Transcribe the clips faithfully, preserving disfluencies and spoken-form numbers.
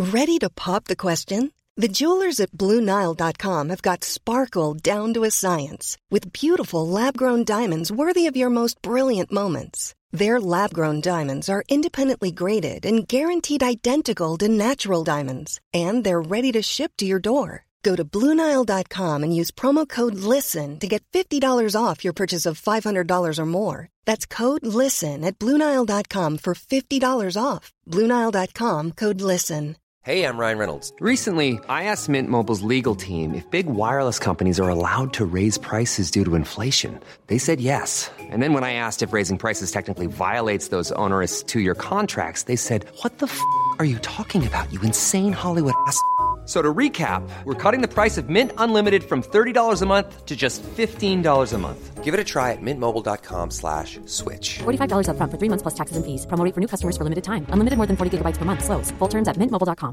Ready to pop the question? The jewelers at Blue Nile dot com have got sparkle down to a science with beautiful lab-grown diamonds worthy of your most brilliant moments. Their lab-grown diamonds are independently graded and guaranteed identical to natural diamonds, and they're ready to ship to your door. Go to Blue Nile dot com and use promo code LISTEN to get fifty dollars off your purchase of five hundred dollars or more. That's code LISTEN at Blue Nile dot com for fifty dollars off. Blue Nile dot com, code LISTEN. Hey, I'm Ryan Reynolds. Recently, I asked Mint Mobile's legal team if big wireless companies are allowed to raise prices due to inflation. They said yes. And then when I asked if raising prices technically violates those onerous two-year contracts, they said, what the f*** are you talking about, you insane Hollywood ass f- So to recap, we're cutting the price of Mint Unlimited from thirty dollars a month to just fifteen dollars a month. Give it a try at mintmobile.com slash switch. forty-five dollars up front for three months plus taxes and fees. Promo rate for new customers for limited time. Unlimited more than forty gigabytes per month. Slows full terms at mint mobile dot com.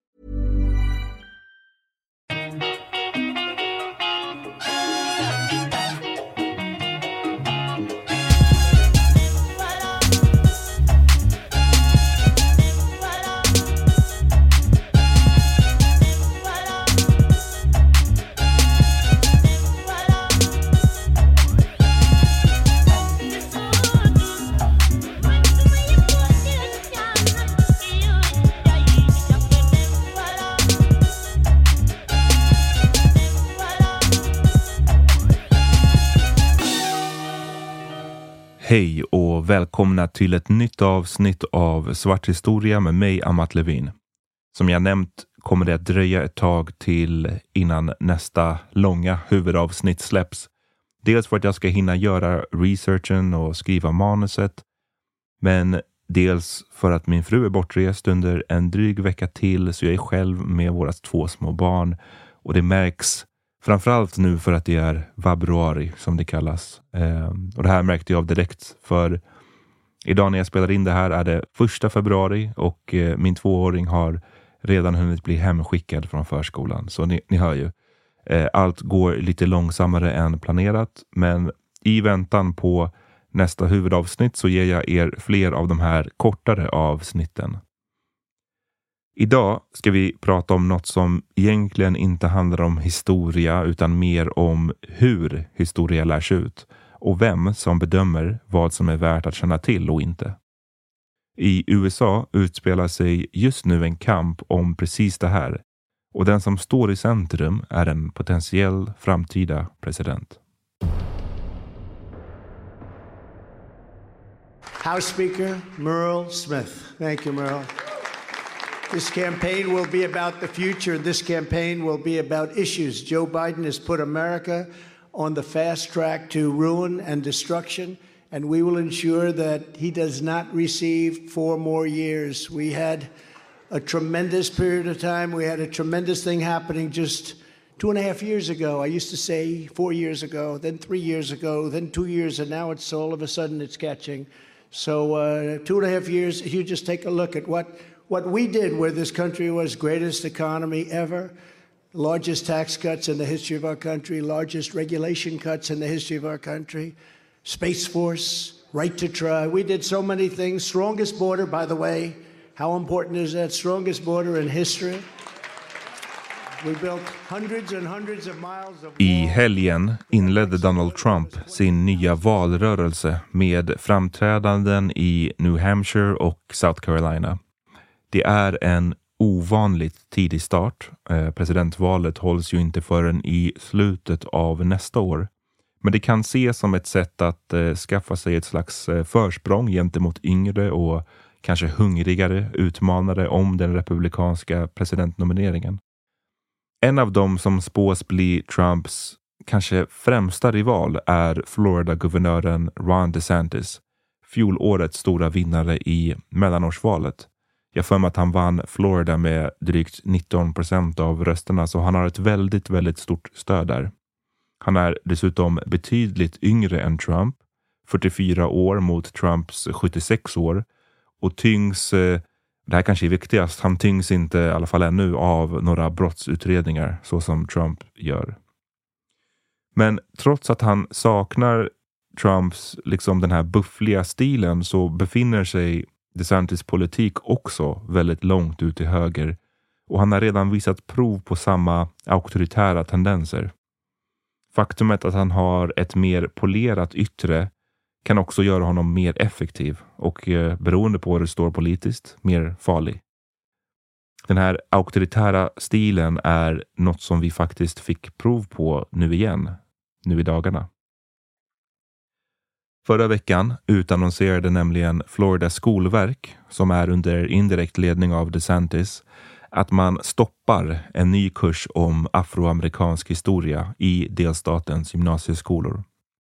Hej och välkomna till ett nytt avsnitt av Svart historia med mig, Amat Levin. Som jag nämnt kommer det att dröja ett tag till innan nästa långa huvudavsnitt släpps. Dels för att jag ska hinna göra researchen och skriva manuset. Men dels för att min fru är bortrest under en dryg vecka till, så jag är själv med våra två små barn. Och det märks framförallt nu för att det är vabruari som det kallas. Eh, och det här märkte jag direkt, för idag när jag spelar in det här är det första februari och eh, min tvååring har redan hunnit bli hemskickad från förskolan. Så ni, ni hör ju, eh, allt går lite långsammare än planerat, men i väntan på nästa huvudavsnitt så ger jag er fler av de här kortare avsnitten. Idag ska vi prata om något som egentligen inte handlar om historia utan mer om hur historia lärs ut och vem som bedömer vad som är värt att känna till och inte. I U S A utspelar sig just nu en kamp om precis det här, och den som står i centrum är en potentiell framtida president. House Speaker Murrell Smith. Thank you, Murrell. This campaign will be about the future. This campaign will be about issues. Joe Biden has put America on the fast track to ruin and destruction, and we will ensure that he does not receive four more years. We had a tremendous period of time. We had a tremendous thing happening just two and a half years ago. I used to say four years ago, then three years ago, then two years, and now it's all of a sudden it's catching. So uh, two and a half years, if you just take a look at what What we did where this country was greatest economy ever, largest tax cuts in the history of our country, largest regulation cuts in the history of our country, Space Force, right to try. We did so many things. Strongest border, by the way. How important is that? Strongest border in history. We built hundreds and hundreds of miles of... I helgen inledde Donald Trump sin nya valrörelse med framträdanden i New Hampshire och South Carolina. Det är en ovanligt tidig start. Eh, presidentvalet hålls ju inte förrän i slutet av nästa år. Men det kan ses som ett sätt att eh, skaffa sig ett slags eh, försprång gentemot yngre och kanske hungrigare utmanare om den republikanska presidentnomineringen. En av dem som spås bli Trumps kanske främsta rival är Florida-guvernören Ron DeSantis, fjolårets stora vinnare i mellanårsvalet. Jag för mig att han vann Florida med drygt nitton procent av rösterna, så han har ett väldigt, väldigt stort stöd där. Han är dessutom betydligt yngre än Trump, fyrtiofyra år mot Trumps sjuttiosex år, och tyngs, det här kanske är viktigast, han tyngs inte i alla fall ännu av några brottsutredningar så som Trump gör. Men trots att han saknar Trumps liksom den här buffliga stilen, så befinner sig DeSantis politik också väldigt långt ut till höger. och han har redan visat prov på samma auktoritära tendenser. Faktumet att han har ett mer polerat yttre kan också göra honom mer effektiv och eh, beroende på hur det står politiskt, mer farlig. Den här auktoritära stilen är något som vi faktiskt fick prov på nu igen, nu i dagarna. Förra veckan utannonserade nämligen Floridas skolverk, som är under indirekt ledning av DeSantis, att man stoppar en ny kurs om afroamerikansk historia i delstatens gymnasieskolor.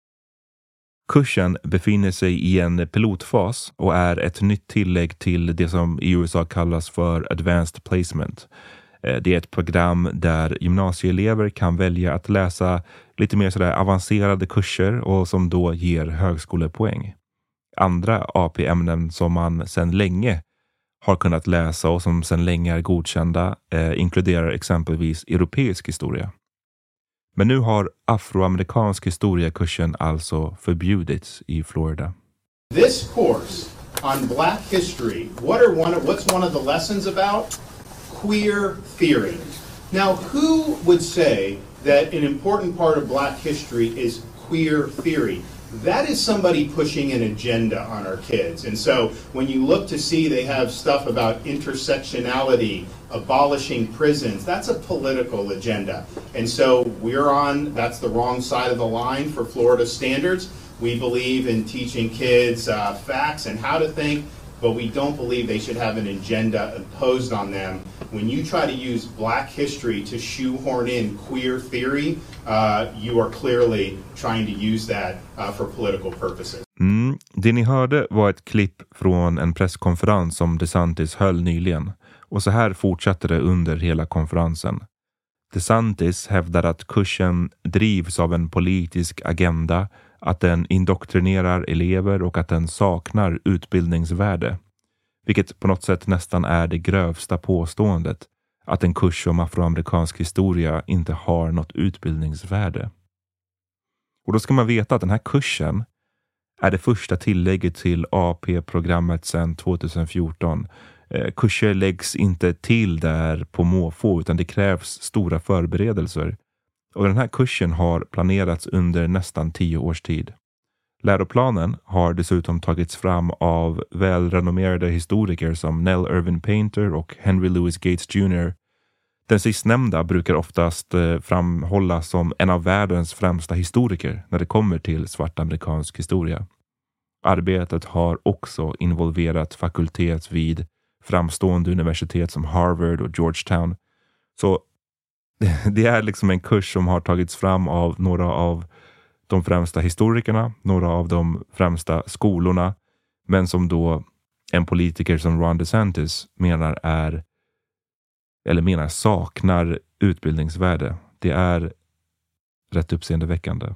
Kursen befinner sig i en pilotfas och är ett nytt tillägg till det som i U S A kallas för Advanced Placement. Det är ett program där gymnasieelever kan välja att läsa lite mer sådär avancerade kurser och som då ger högskolepoäng. Andra A P-ämnen som man sedan länge har kunnat läsa och som sedan länge är godkända eh, inkluderar exempelvis europeisk historia. Men nu har afroamerikansk historiakursen alltså förbjudits i Florida. This course on Black history, what are one of, what's one of the lessons about? Queer theory. Now, who would say that an important part of Black history is queer theory? That is somebody pushing an agenda on our kids. And so when you look to see they have stuff about intersectionality, abolishing prisons, that's a political agenda. And so we're on, that's the wrong side of the line for Florida standards. We believe in teaching kids uh, facts and how to think, but we don't believe they should have an agenda imposed on them. When you try to use Black history to shoehorn in queer theory, uh, you are clearly trying to use that uh, for political purposes. Mm, det ni hörde var ett klipp från en presskonferens som DeSantis höll nyligen. Och så här fortsatte det under hela konferensen. DeSantis hävdar att kursen drivs av en politisk agenda, att den indoktrinerar elever och att den saknar utbildningsvärde. Vilket på något sätt nästan är det grövsta påståendet, att en kurs om afroamerikansk historia inte har något utbildningsvärde. Och då ska man veta att den här kursen är det första tillägget till A P-programmet sedan tjugohundrafjorton. Eh, kurser läggs inte till där på måfå utan det krävs stora förberedelser. Och den här kursen har planerats under nästan tio års tid. Läroplanen har dessutom tagits fram av välrenommerade historiker som Nell Irvin Painter och Henry Louis Gates junior Den sistnämnda brukar oftast framhållas som en av världens främsta historiker när det kommer till svart amerikansk historia. Arbetet har också involverat fakultet vid framstående universitet som Harvard och Georgetown. Så det är liksom en kurs som har tagits fram av några av de främsta historikerna, några av de främsta skolorna, men som då en politiker som Ron DeSantis menar är eller menar saknar utbildningsvärde. Det är rätt uppseendeväckande.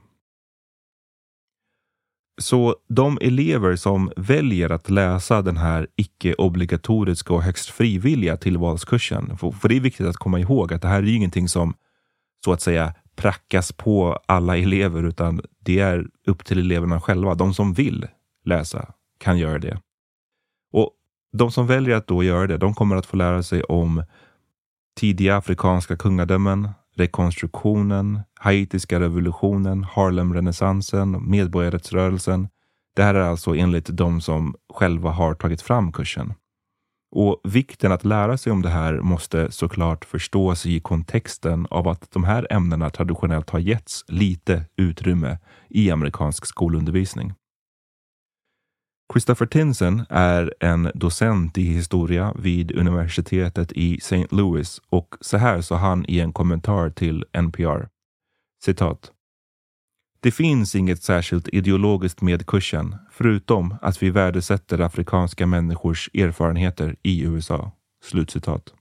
Så de elever som väljer att läsa den här icke-obligatoriska och högst frivilliga tillvalskursen, för, för det är viktigt att komma ihåg att det här är ingenting som så att säga prackas på alla elever, utan det är upp till eleverna själva. De som vill läsa kan göra det. Och de som väljer att då göra det, de kommer att få lära sig om tidiga afrikanska kungadömen, rekonstruktionen, haitiska revolutionen, Harlem-renässansen, medborgarrättsrörelsen. Det här är alltså enligt de som själva har tagit fram kursen. Och vikten att lära sig om det här måste såklart förstås i kontexten av att de här ämnena traditionellt har getts lite utrymme i amerikansk skolundervisning. Christopher Tinson är en docent i historia vid universitetet i Saint Louis och så här sa han i en kommentar till N P R. Citat. Det finns inget särskilt ideologiskt med kursen, förutom att vi värdesätter afrikanska människors erfarenheter i U S A. Slutcitat.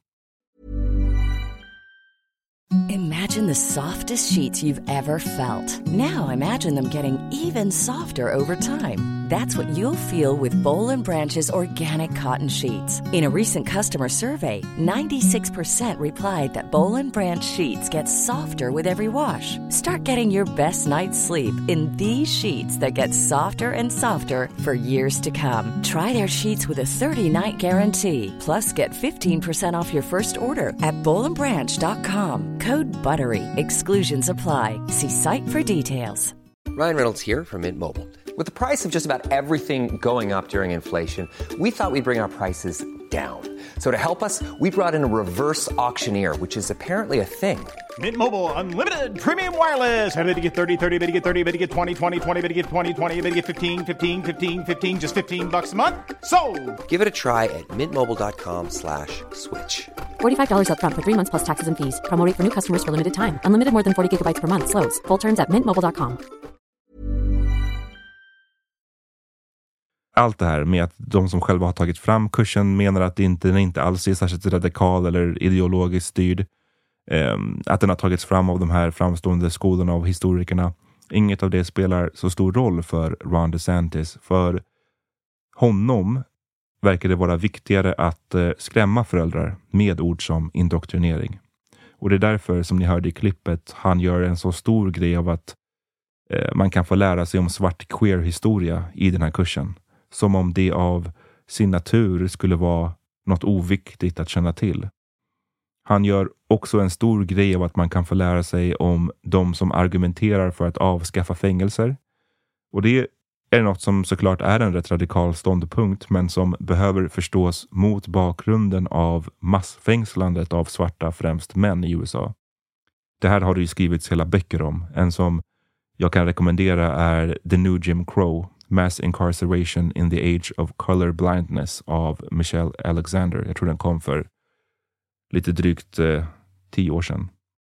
Imagine the softest sheets you've ever felt. Now imagine them getting even softer over time. That's what you'll feel with Boll and Branch's organic cotton sheets. In a recent customer survey, ninety-six percent replied that Boll and Branch sheets get softer with every wash. Start getting your best night's sleep in these sheets that get softer and softer for years to come. Try their sheets with a thirty-night guarantee. Plus, get fifteen percent off your first order at boll and branch dot com. Code BUTTERY. Exclusions apply. See site for details. Ryan Reynolds here from Mint Mobile. With the price of just about everything going up during inflation, we thought we'd bring our prices down. So to help us, we brought in a reverse auctioneer, which is apparently a thing. Mint Mobile Unlimited Premium Wireless. How to get thirty, thirty, how to get thirty, how to get twenty, twenty, twenty, how to get twenty, twenty, how to get fifteen, fifteen, fifteen, fifteen, just fifteen bucks a month? Sold! Give it a try at mintmobile.com slash switch. forty-five dollars up front for three months plus taxes and fees. Promo rate for new customers for limited time. Unlimited more than forty gigabytes per month. Slows full terms at mint mobile dot com. Allt det här med att de som själva har tagit fram kursen menar att det inte, den inte alls är särskilt radikal eller ideologiskt styrd. Um, att den har tagits fram av de här framstående skolorna av historikerna. Inget av det spelar så stor roll för Ron DeSantis. För honom verkar det vara viktigare att uh, skrämma föräldrar med ord som indoktrinering. Och det är därför, som ni hörde i klippet, han gör en så stor grej av att uh, man kan få lära sig om svart queer-historia i den här kursen. Som om det av sin natur skulle vara något oviktigt att känna till. Han gör också en stor grej av att man kan få lära sig om de som argumenterar för att avskaffa fängelser. Och det är något som såklart är en rätt radikal ståndpunkt, men som behöver förstås mot bakgrunden av massfängslandet av svarta, främst män i U S A. Det här har det ju skrivits hela böcker om. En som jag kan rekommendera är The New Jim Crow, Mass Incarceration in the Age of Color Blindness av Michelle Alexander. Jag tror den kom för lite drygt eh, tio år sedan.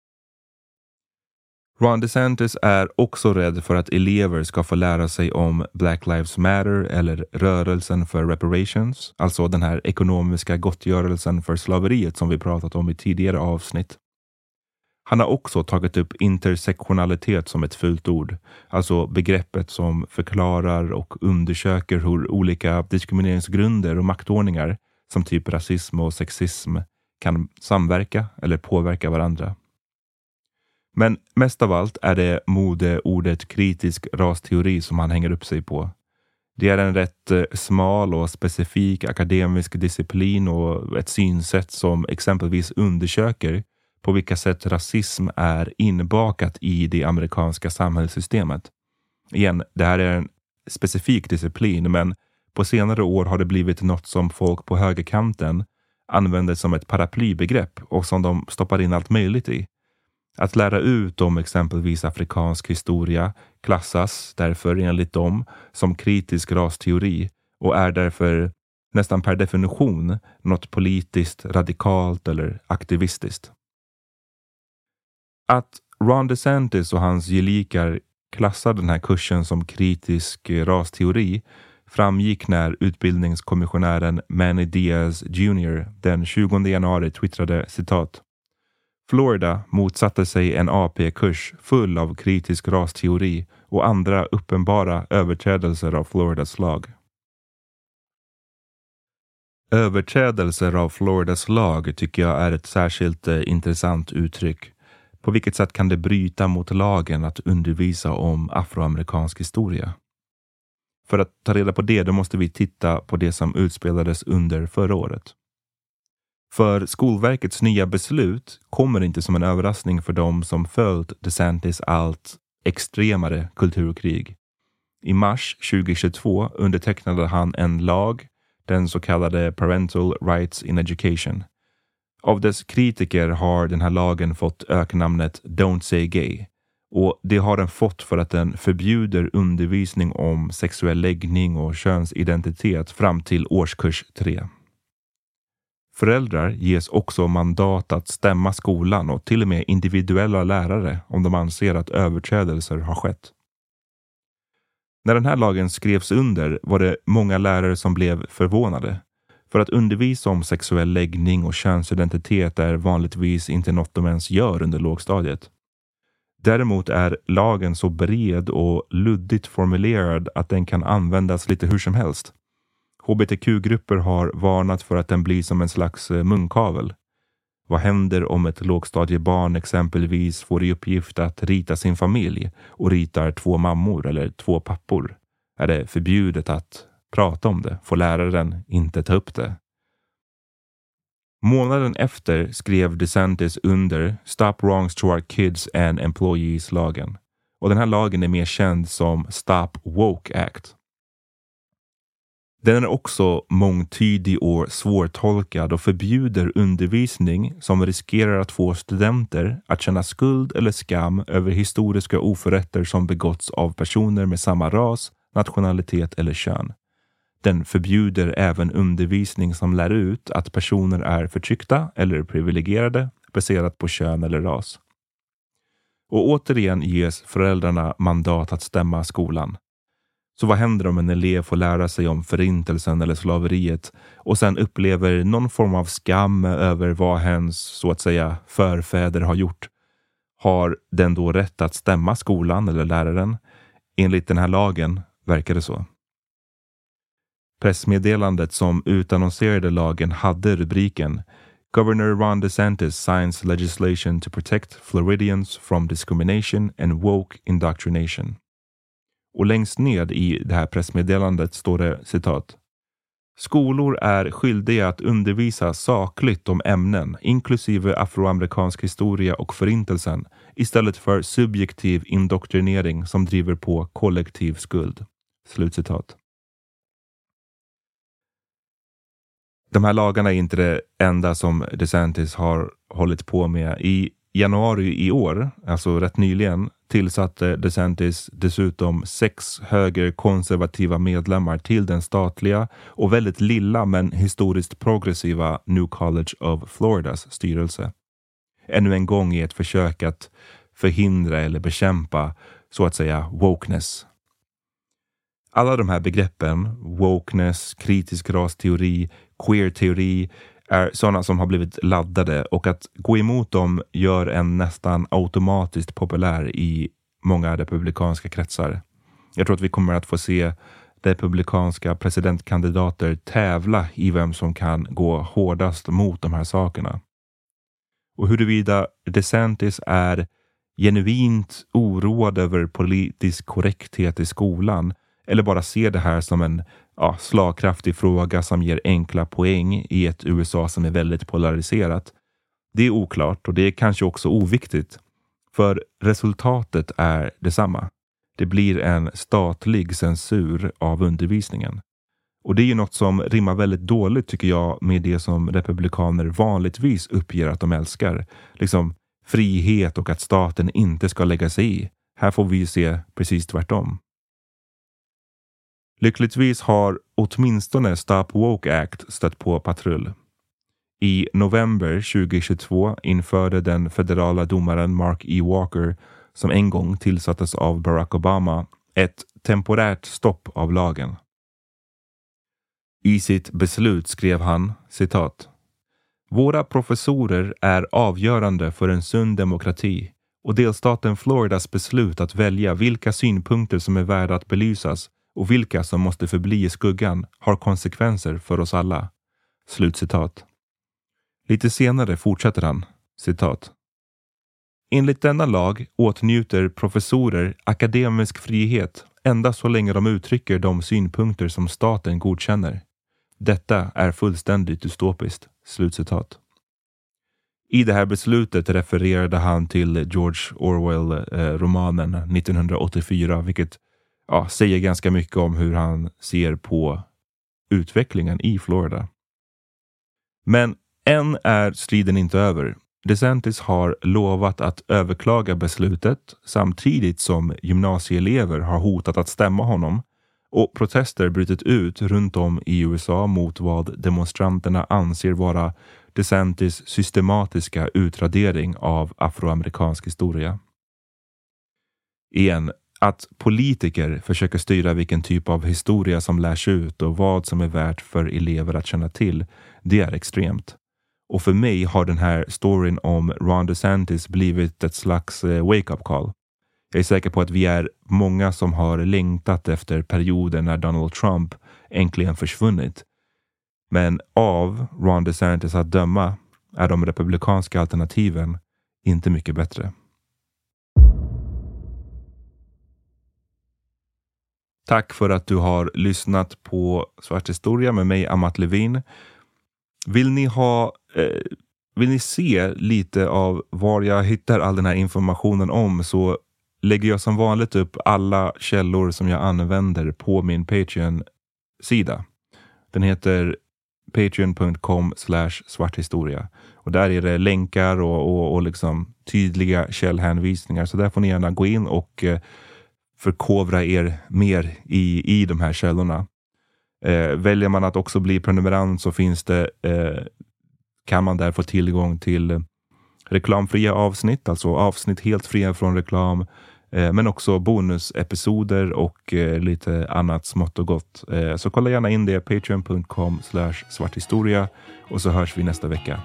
Ron DeSantis är också rädd för att elever ska få lära sig om Black Lives Matter eller rörelsen för reparations, alltså den här ekonomiska gottgörelsen för slaveriet som vi pratat om i tidigare avsnitt. Han har också tagit upp intersektionalitet som ett fult ord, alltså begreppet som förklarar och undersöker hur olika diskrimineringsgrunder och maktordningar som typ rasism och sexism kan samverka eller påverka varandra. Men mest av allt är det modeordet kritisk rasteori som han hänger upp sig på. Det är en rätt smal och specifik akademisk disciplin och ett synsätt som exempelvis undersöker på vilka sätt rasism är inbakat i det amerikanska samhällssystemet. Igen, det här är en specifik disciplin, men på senare år har det blivit något som folk på högerkanten använder som ett paraplybegrepp och som de stoppar in allt möjligt i. Att lära ut om exempelvis afrikansk historia klassas därför enligt dem som kritisk rasteori och är därför nästan per definition något politiskt, radikalt eller aktivistiskt. Att Ron DeSantis och hans gelikar klassar den här kursen som kritisk rasteori framgick när utbildningskommissionären Manny Diaz junior den tjugonde januari twittrade citat: Florida motsatte sig en A P-kurs full av kritisk rasteori och andra uppenbara överträdelser av Floridas lag. Överträdelser av Floridas lag tycker jag är ett särskilt eh, intressant uttryck. På vilket sätt kan det bryta mot lagen att undervisa om afroamerikansk historia? För att ta reda på det, då måste vi titta på det som utspelades under förra året. För Skolverkets nya beslut kommer inte som en överraskning för dem som följt DeSantis allt extremare kulturkrig. I mars tjugohundratjugotvå undertecknade han en lag, den så kallade Parental Rights in Education. Av dess kritiker har den här lagen fått öknamnet Don't Say Gay. Och det har den fått för att den förbjuder undervisning om sexuell läggning och könsidentitet fram till årskurs tre. Föräldrar ges också mandat att stämma skolan och till och med individuella lärare om de anser att överträdelser har skett. När den här lagen skrevs under var det många lärare som blev förvånade. För att undervisa om sexuell läggning och könsidentitet är vanligtvis inte något de ens gör under lågstadiet. Däremot är lagen så bred och luddigt formulerad att den kan användas lite hur som helst. H B T Q-grupper har varnat för att den blir som en slags munkavel. Vad händer om ett lågstadiebarn exempelvis får i uppgift att rita sin familj och ritar två mammor eller två pappor? Är det förbjudet att prata om det? Får läraren inte ta upp det? Månaden efter skrev DeSantis under Stop Wrongs to Our Kids and Employees-lagen. Och den här lagen är mer känd som Stop Woke Act. Den är också mångtydig och svårtolkad och förbjuder undervisning som riskerar att få studenter att känna skuld eller skam över historiska oförrätter som begåtts av personer med samma ras, nationalitet eller kön. Den förbjuder även undervisning som lär ut att personer är förtryckta eller privilegierade baserat på kön eller ras. Och återigen ges föräldrarna mandat att stämma skolan. Så vad händer om en elev får lära sig om förintelsen eller slaveriet och sen upplever någon form av skam över vad hens, så att säga, förfäder har gjort? Har den då rätt att stämma skolan eller läraren? Enligt den här lagen verkar det så. Pressmeddelandet som utannonserade lagen hade rubriken Governor Ron DeSantis signs legislation to protect Floridians from discrimination and woke indoctrination. Och längst ned i det här pressmeddelandet står det citat: Skolor är skyldiga att undervisa sakligt om ämnen, inklusive afroamerikansk historia och förintelsen, istället för subjektiv indoktrinering som driver på kollektiv skuld. Slutcitat. De här lagarna är inte det enda som DeSantis har hållit på med. I januari i år, alltså rätt nyligen, tillsatte DeSantis dessutom sex högerkonservativa medlemmar till den statliga och väldigt lilla men historiskt progressiva New College of Floridas styrelse. Ännu en gång i ett försök att förhindra eller bekämpa, så att säga, wokeness. Alla de här begreppen, wokeness, kritisk rasteori, queer-teori, är sådana som har blivit laddade, och att gå emot dem gör en nästan automatiskt populär i många republikanska kretsar. Jag tror att vi kommer att få se republikanska presidentkandidater tävla i vem som kan gå hårdast mot de här sakerna. Och huruvida DeSantis är genuint oroad över politisk korrekthet i skolan eller bara ser det här som en ja, slagkraftig fråga som ger enkla poäng i ett U S A som är väldigt polariserat, det är oklart, och det är kanske också oviktigt. För resultatet är detsamma. Det blir en statlig censur av undervisningen. Och det är ju något som rimmar väldigt dåligt, tycker jag, med det som republikaner vanligtvis uppger att de älskar. Liksom frihet och att staten inte ska lägga sig i. Här får vi se precis tvärtom. Lyckligtvis har åtminstone Stop Woke Act stött på patrull. I november tjugohundratjugotvå införde den federala domaren Mark E. Walker, som en gång tillsattes av Barack Obama, ett temporärt stopp av lagen. I sitt beslut skrev han, citat: Våra professorer är avgörande för en sund demokrati, och delstaten Floridas beslut att välja vilka synpunkter som är värda att belysas och vilka som måste förbli i skuggan har konsekvenser för oss alla. Slutcitat. Lite senare fortsätter han, citat: Enligt denna lag åtnjuter professorer akademisk frihet endast så länge de uttrycker de synpunkter som staten godkänner. Detta är fullständigt dystopiskt. Slutcitat. I det här beslutet refererade han till George Orwell-romanen eh, nittonhundraåttiofyra, vilket ja, säger ganska mycket om hur han ser på utvecklingen i Florida. Men än är striden inte över. DeSantis har lovat att överklaga beslutet samtidigt som gymnasieelever har hotat att stämma honom, och protester brutit ut runt om i U S A mot vad demonstranterna anser vara DeSantis systematiska utradering av afroamerikansk historia. Igen, att politiker försöker styra vilken typ av historia som lärs ut och vad som är värt för elever att känna till, det är extremt. Och för mig har den här storyn om Ron DeSantis blivit ett slags wake-up call. Jag är säker på att vi är många som har längtat efter perioden när Donald Trump äntligen försvunnit. Men av Ron DeSantis att döma är de republikanska alternativen inte mycket bättre. Tack för att du har lyssnat på Svart historia med mig, Amat Levin. Vill ni ha eh, vill ni se lite av var jag hittar all den här informationen om, så lägger jag som vanligt upp alla källor som jag använder på min Patreon-sida. Den heter patreon dot com slash svarthistoria. Och där är det länkar och, och, och liksom tydliga källhänvisningar. Så där får ni gärna gå in och eh, förkovra er mer i, i de här källorna. Eh, väljer man att också bli prenumerant så finns det, eh, kan man där få tillgång till reklamfria avsnitt, alltså avsnitt helt fria från reklam, eh, men också bonusepisoder och eh, lite annat smått och gott. Eh, så kolla gärna in det, patreon dot com slash svarthistoria, och så hörs vi nästa vecka.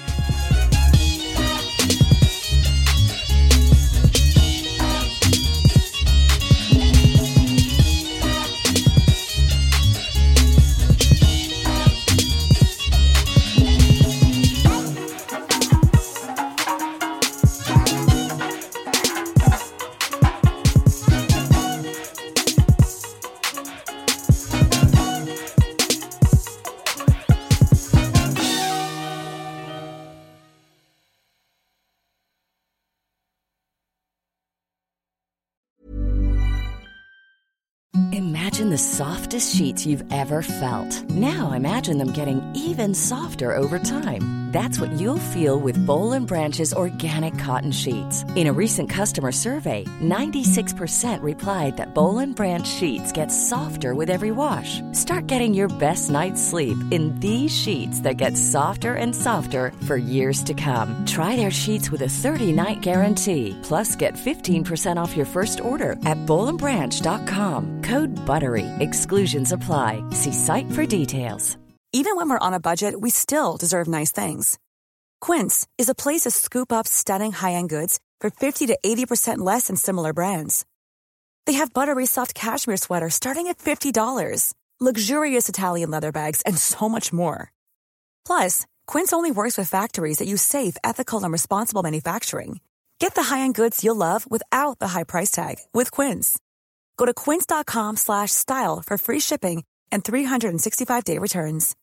Imagine the softest sheets you've ever felt. Now imagine them getting even softer over time. That's what you'll feel with Boll and Branch's organic cotton sheets. In a recent customer survey, ninety-six percent replied that Boll and Branch sheets get softer with every wash. Start getting your best night's sleep in these sheets that get softer and softer for years to come. Try their sheets with a thirty-night guarantee. Plus, get fifteen percent off your first order at boll and branch dot com. Code BUTTERY. Exclusions apply. See site for details. Even when we're on a budget, we still deserve nice things. Quince is a place to scoop up stunning high-end goods for fifty to eighty percent less than similar brands. They have buttery soft cashmere sweaters starting at fifty dollars, luxurious Italian leather bags, and so much more. Plus, Quince only works with factories that use safe, ethical, and responsible manufacturing. Get the high-end goods you'll love without the high price tag with Quince. Go to quince dot com slash style for free shipping and three sixty-five day returns.